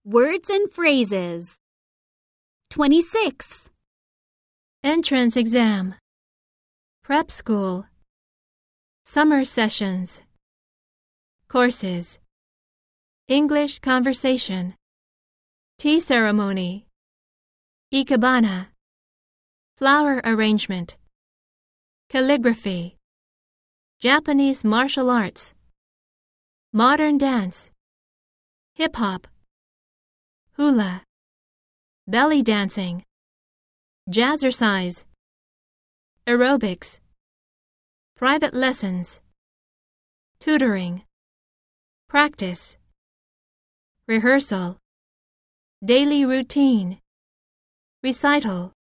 Words and phrases. 26. Entrance exam. Prep school. Summer sessions. Courses. English conversation. Tea ceremony. Ikebana. Flower arrangement. Calligraphy. Japanese martial arts. Modern dance. Hip-hop. Hula. Belly dancing. Jazzercise. Aerobics. Private lessons. Tutoring. Practice. Rehearsal. Daily routine. Recital.